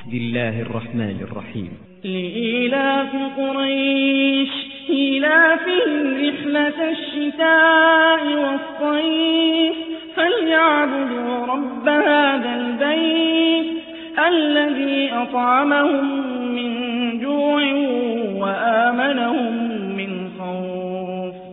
بسم الله الرحمن الرحيم. لإيلاف قريش إيلافهم رحلة الشتاء والصيف فليعبدوا رب هذا البيت الذي أطعمهم من